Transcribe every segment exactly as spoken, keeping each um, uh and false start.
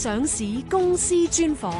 上市公司專訪。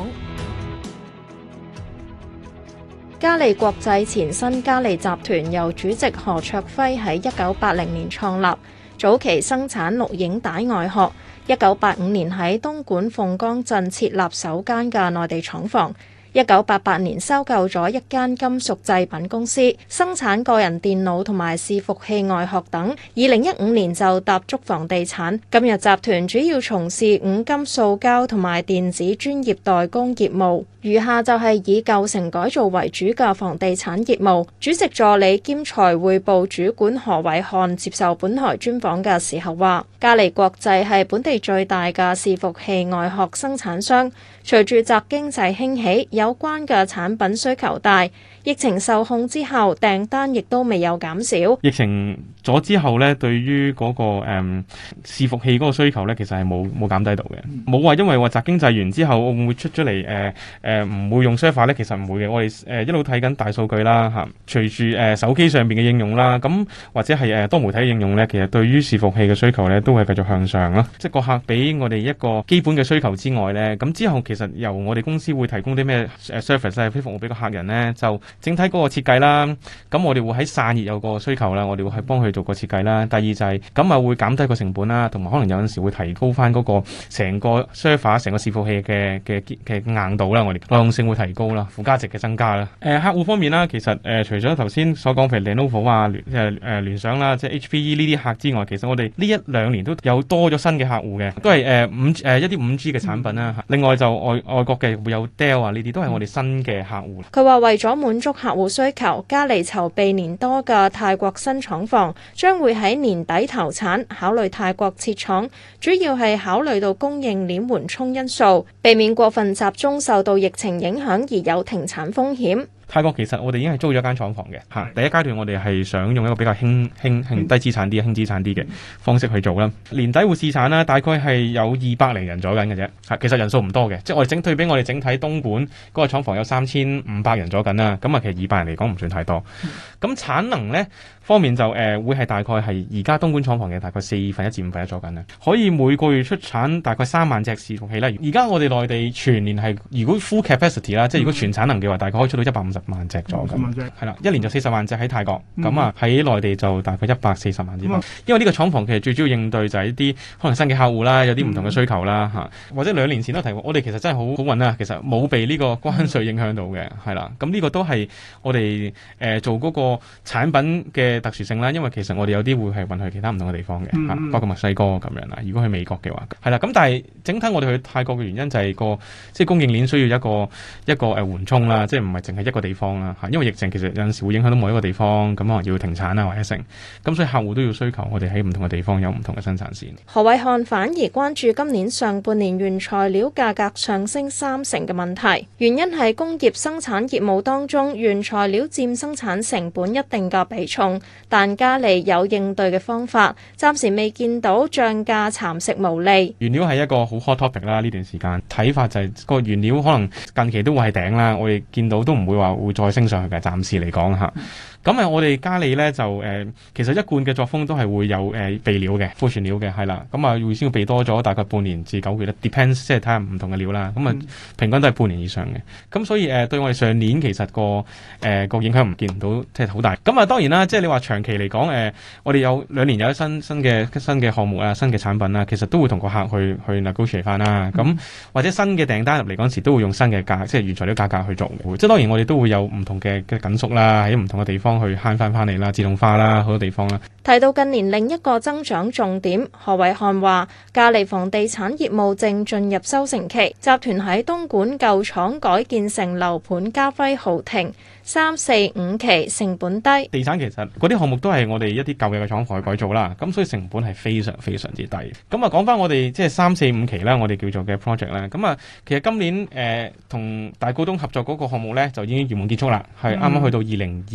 嘉利國際前身嘉利集團由主席何卓輝喺一九八零年創立，早期生產錄影帶外殼。一九八五年喺東莞鳳崗鎮設立首間嘅內地廠房。一九八八年收購咗一間金屬製品公司，生產個人電腦同埋伺服器外殼等。二零一五年就踏足房地產。今日集團主要從事五金塑膠同埋電子專業代工業務，餘下就係以舊城改造為主嘅房地產業務。主席助理兼財匯部主管何偉漢接受本台專訪嘅時候話，嘉利國際係本地最大嘅伺服器外殼生產商。隨住宅經濟興起，有關嘅產品需求大，疫情受控之後，訂單亦都未有減少。 疫情咗之後咧，對於嗰、那個誒、嗯、伺服器嗰個需求咧，其實係冇冇減低到嘅，冇話因為話宅經濟完之後會唔會出咗嚟誒誒唔會用 server 咧，其實唔會嘅。我哋誒、呃、一路睇緊大數據啦嚇，隨住誒、呃、手機上邊嘅應用啦，咁或者係誒多媒體應用咧，其實對於伺服器嘅需求咧都係繼續向上咯。即係個客俾我哋一個基本嘅需求之外咧，咁之後其實由我哋公司會提供啲咩誒 service 咧，服務俾個客人咧，就整體嗰個設計啦。咁我哋會喺散熱有個需求啦，我哋會去幫佢做個設計啦。第二就係咁啊，會減低個成本啦，同埋可能有陣時會提高翻嗰個成個 server 成個伺服器嘅嘅嘅硬度啦，我哋耐用性會提高啦，附加值嘅增加啦。誒、呃、客戶方面啦，其實誒、呃、除咗頭先所講譬如 Lenovo 啊、聯誒誒聯想啦，即係 H P E 呢啲客之外，其實我哋呢一兩年都有多咗新嘅客戶嘅，都係誒五誒一啲五 G 嘅產品啦。另外就外外國嘅會有 Dell 啊，呢啲都係我哋新嘅客戶。 佢話為咗滿足客戶需求，嘉利籌備年多嘅泰國新廠房將會喺年底投產，考慮泰國設廠，主要係考慮到供應鏈緩衝因素，避免過分集中受到疫情影響而有停產風險。 泰國其實我哋已經係租咗間廠房嘅嚇，第一階段我哋係想用一個比較輕輕輕低資產啲、輕資產啲嘅方式去做啦。年底會試產啦，大概係有二百零人左緊嘅啫嚇，其實人數唔多嘅，即係我哋整對比我哋整體東莞嗰個廠房有三千五百人左緊啦，咁啊其實二百人嚟講唔算太多。咁產能咧方面就誒、呃、會係大概係而家東莞廠房嘅大概四分一至五分一左緊啦，可以每個月出產大概三萬隻伺服器啦。而家我哋內地全年係如果 full capacity 啦，即係如果全產能嘅話，大概可以出到一百五十萬隻左緊，係啦，一年就四十萬隻喺泰國，咁啊喺內地就大概一百四十萬隻。嗯、因為呢個廠房其實最主要應對就係一啲可能新嘅客戶啦，有啲唔同嘅需求啦嚇、嗯，或者兩年前都提過，我哋其實真係好好運啦，其實冇被呢個關稅影響到嘅，係啦，咁呢個都係我哋誒、呃、做嗰個產品嘅特殊性啦，因為其實我哋有啲會係運去其他唔同嘅地方嘅嚇、嗯，包括墨西哥咁樣啦。如果去美國嘅話，係啦，咁但係整體我哋去泰國嘅原因就係個即係供應鏈需要一個一個誒緩衝啦，即係唔係淨係一個地方啦嚇，因為疫情其實有陣時會影響到某一個地方，咁可能要停產啊或者成，咁所以客戶都要需求我哋喺唔同嘅地方有唔同嘅生產線。 何偉漢反而關注今年上半年原材料價格上升三成嘅問題，原因係工業生產業務當中原材料佔生產成本一定嘅比重，但嘉利有應對嘅方法，暫時未見到漲價蠶食毛利。 原料係一個好 hot topic 啦，呢段時間睇法就係、是、個原料可能近期都會係頂啦，我哋見到都唔會話會再升上去嘅，暫時嚟講嚇。咁啊，我哋嘉利咧就誒、呃，其實一貫嘅作風都係會有誒、呃、備料嘅庫存料嘅，係啦。咁啊，會先要備多咗大概半年至九個月啦 ，depends 即係睇下唔同嘅料啦。咁啊，平均都係半年以上嘅。咁所以誒、呃，對我哋上年其實個誒個影響唔見唔到，即係好大。咁啊，當然啦，即係你話長期嚟講誒，我哋有兩年有一新新嘅新嘅項目啊，新嘅產品啊，其實都會同個客去去 negotiate 翻啦。咁、嗯、或者新嘅訂單入嚟嗰陣時，都會用新嘅價，即係原材料價格去做嘅。即係當然我哋都會有唔同嘅嘅緊縮啦，喺唔同嘅地方去慳翻翻嚟啦，自動化啦，好多地方啦。 提到近年另一個增長重點，何偉漢話嘉利房地產業務正進入收成期，集團喺東莞舊廠改建成樓盤嘉輝豪庭。三四五期成本低， 地產其實嗰啲項目都係我哋一啲舊嘅廠房去改造啦，咁所以成本係非常非常之低。咁啊講翻我哋即係三四五期啦，我哋叫做嘅 project 啦。咁啊其實今年誒同、呃、大股東合作嗰個項目咧就已經圓滿結束啦，係啱啱去到二零二一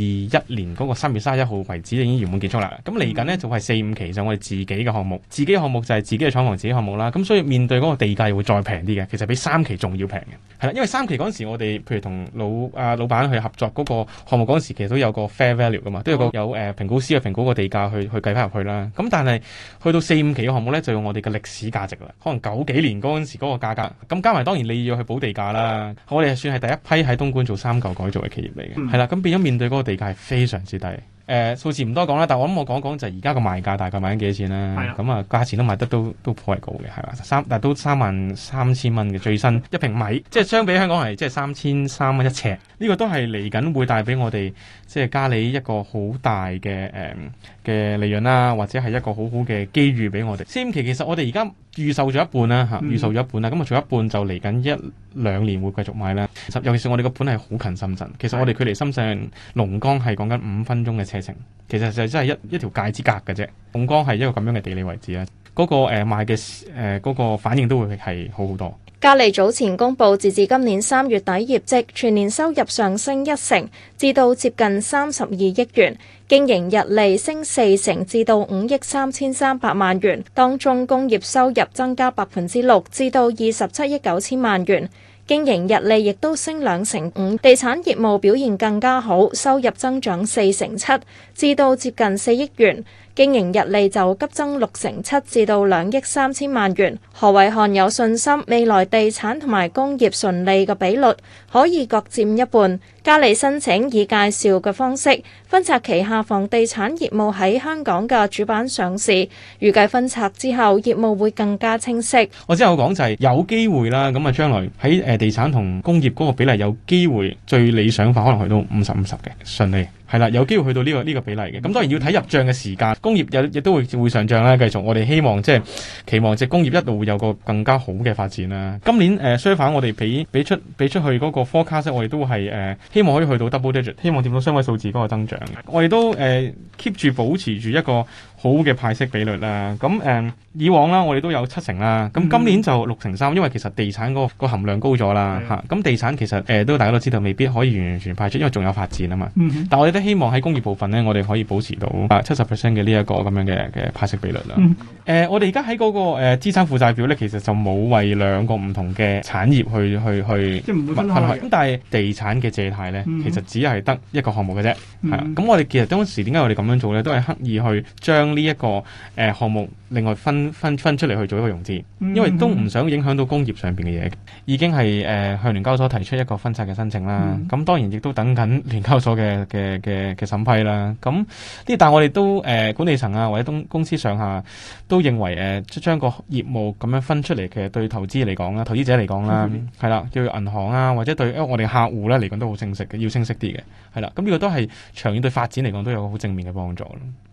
年嗰個三月三十一號為止已經圓滿結束啦。咁嚟緊呢，就係四五期就我哋自己嘅項目，自己嘅項目就係自己嘅廠房、自己項目啦。咁所以面對嗰個地價會再平啲嘅，其實比三期仲要平嘅。係啦，因為三期嗰陣時我哋譬如同老啊老闆去合作嗰個項目嗰陣時，其實都有個 fair value 噶嘛，都有個有誒評估師去評估個地價去去計翻入去啦。咁但係去到四五期嘅項目咧，就用我哋嘅歷史價值啦，可能九幾年嗰陣時嗰個價格，咁加埋當然你要去補地價啦。我哋係算係第一批喺東莞做三舊改造嘅企業嚟嘅，係啦、嗯，咁變咗面對嗰個地價係非常之低。誒、呃、數字唔多講啦，但係我諗我講講就係而家個賣價大概賣緊幾多錢啦。咁啊價錢都賣得都都頗為高嘅，係嘛，三但係都三萬三千蚊嘅最新一平米，即係相比香港係即係三千三蚊一尺。呢、這個都係嚟緊會帶俾我哋即係嘉里一個好大嘅誒嘅利潤啦，或者係一個好好嘅機遇俾我哋。四五期其實我哋而家預售咗一半啦嚇，預售咗一半啦，咁啊仲有一半就嚟緊一兩年會繼續賣啦。尤其是我哋個盤係好近深圳，其實我哋距離深圳龍崗係講緊五分鐘嘅車程，其實就真係一一條界之隔嘅啫。龍崗係一個咁樣嘅地理位置啦，嗰、那個誒、呃、賣嘅誒嗰個反應都會係好好多。 嘉里早前公布截至今年三月底業績，全年收入上升一成，至到接近三十二億元，經營溢利升四成，至到五億三千三百萬元。當中工業收入增加百分之六，至到二十七億九千萬元。經營溢利亦都升兩成五，地產業務表現更加好，收入增長四成七，至到接近四億元。經營溢利就急增六成七，至到兩億三千萬元。何偉漢有信心未來地產同埋工業純利嘅比率可以各佔一半。嘉里申請以介紹嘅方式分拆旗下房地產業務喺香港嘅主板上市，預計分拆之後業務會更加清晰。 我之後講就係有機會啦，咁啊將來喺誒地產同工業嗰個比例有機會最理想化，可能去到五十五十嘅順利。係啦，有機會去到呢、這個呢、這個比例嘅，咁當然要睇入帳嘅時間。工業有亦都會會上帳啦，繼續我哋希望即係期望即係工業一路會有個更加好嘅發展啦。今年誒相反，呃、我哋俾俾出俾出去嗰個 forecast，我哋都係誒、呃、希望可以去到 double digit， 希望掂到雙位數字嗰個增長。我哋都誒 keep 住保持住一個好嘅派息比率啦。咁誒、呃、以往啦，我哋都有七成啦。咁今年就六成三，因為其實地產嗰個含量高咗啦嚇。咁、嗯、地產其實誒都、呃、大家都知道，未必可以完完全派出，因為仲有發展啊嘛。嗯、但我哋都希望喺工業部分呢，我哋可以保持到啊七十 percent 嘅呢一個咁樣嘅嘅派息比率啦。誒、嗯呃，我哋而家喺嗰個誒、呃、資產負債表咧，其實就冇為兩個唔同嘅產業去去去即係唔會分開。咁但係地產嘅借貸咧，嗯、其實只係得一個項目嘅啫。係啊、嗯，咁我哋其實當時點解我哋咁樣做咧，都係刻意去將呢一個誒項目另外分分分出嚟去做一個融資，嗯、因為都唔想影響到工業上邊嘅嘢。已經係誒、呃、向聯交所提出一個分拆嘅申請啦。咁、嗯、當然亦都等緊聯交所嘅嘅嘅嘅審批啦，咁呢？但係我哋都誒、呃、管理層啊，或者東公司上下都認為誒，將、呃、個業務咁樣分出嚟，其實對投資嚟講啦，投資者嚟講啦，係啦、嗯，叫銀行啊，或者對我哋客戶咧嚟講都好清晰嘅，要清晰啲嘅，係啦。咁呢個都係長遠對發展嚟講都有個好正面嘅幫助咯。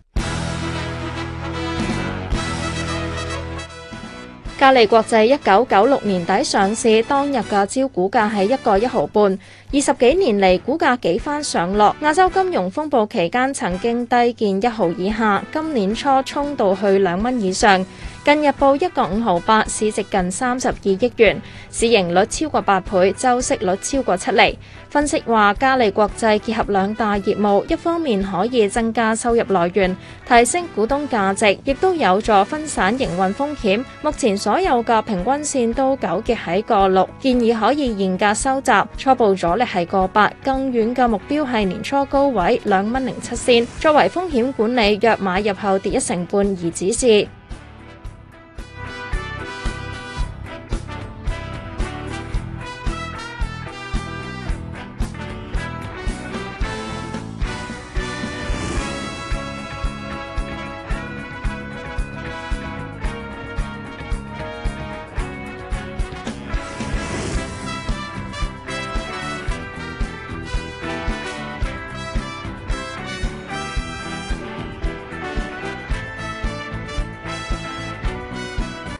嘉里國際一九九六年底上市，當日嘅招股價係一個一毫半，二十幾年嚟股價幾番上落。亞洲金融風暴期間曾經低見一毫以下，今年初衝到去兩蚊以上，近日報一個五毫八，市值近三十二億元，市盈率超過八倍，周息率超過七厘。分析話，嘉里國際結合兩大業務，一方面可以增加收入來源，提升股東價值，亦都有助分散營運風險。目前所有嘅平均線都糾結喺個六，建議可以現價收集，初步阻力係個八，更遠嘅目標係年初高位兩蚊零七仙。作為風險管理，若買入後跌一成半而止蝕。